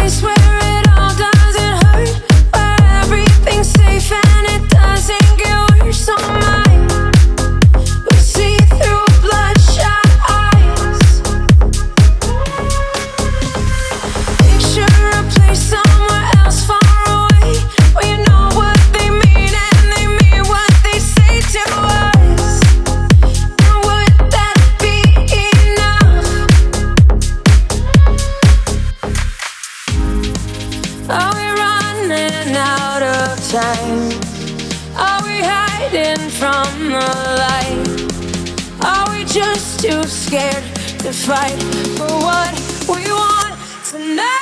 place where it all doesn't hurt, where everything's safe and it doesn't get worse. Oh my, we see through bloodshot eyes. Picture a place somewhere else far away, where you know what they mean and they mean what they say to us. And would that be enough? Are we running out of time? Are we hiding from the light? Are we just too scared to fight for what we want tonight?